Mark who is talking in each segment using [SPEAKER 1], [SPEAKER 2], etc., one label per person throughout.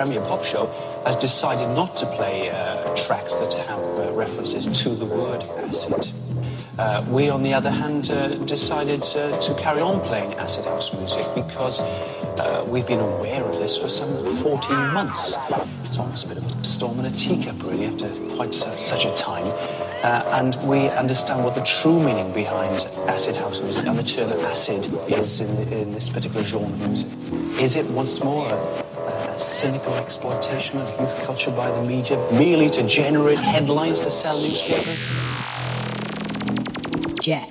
[SPEAKER 1] Premier Pop Show has decided not to play tracks that have references to the word acid. We, on the other hand, decided to carry on playing acid house music because we've been aware of this for some 14 months. It's almost a bit of a storm in a teacup, really, after quite such a time. And we understand what the true meaning behind acid house music and the term acid is in this particular genre of music. Is it, once more, a cynical exploitation of youth culture by the media, merely to generate headlines to sell newspapers?
[SPEAKER 2] Jack.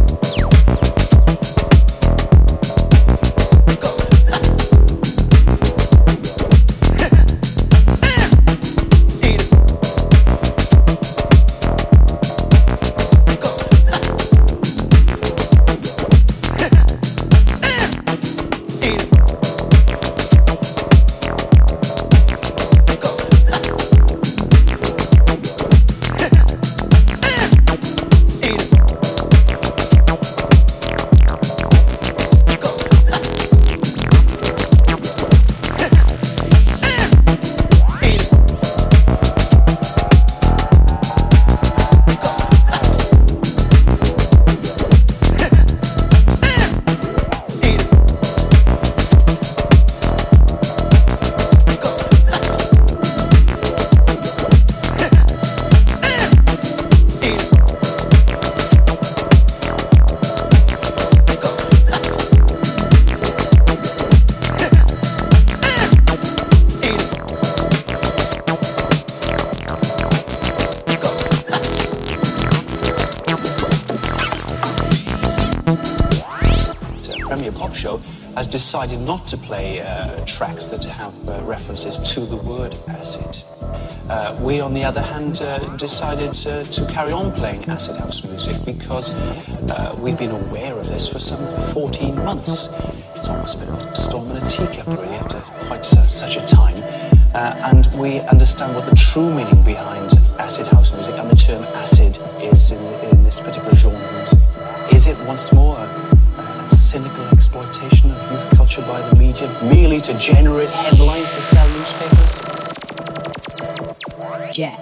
[SPEAKER 1] Decided not to play tracks that have references to the word acid. We, on the other hand, decided to carry on playing acid house music because we've been aware of this for some 14 months. It's almost a bit of a storm in a teacup, really, after quite such a time. And we understand what the true meaning behind acid house music and the term acid is in this particular genre of music. Is it, once more, a cynical exploitation of youth culture by the media, merely to generate headlines to sell newspapers?
[SPEAKER 2] Jack.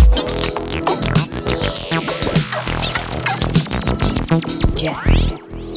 [SPEAKER 2] Yeah.